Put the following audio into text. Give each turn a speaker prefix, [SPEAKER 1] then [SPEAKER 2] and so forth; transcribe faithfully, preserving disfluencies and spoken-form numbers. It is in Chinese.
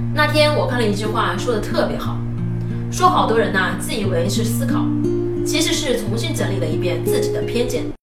[SPEAKER 1] 那天我看了一句话，说的特别好，说好多人呐、自以为是思考，其实是重新整理了一遍自己的偏见。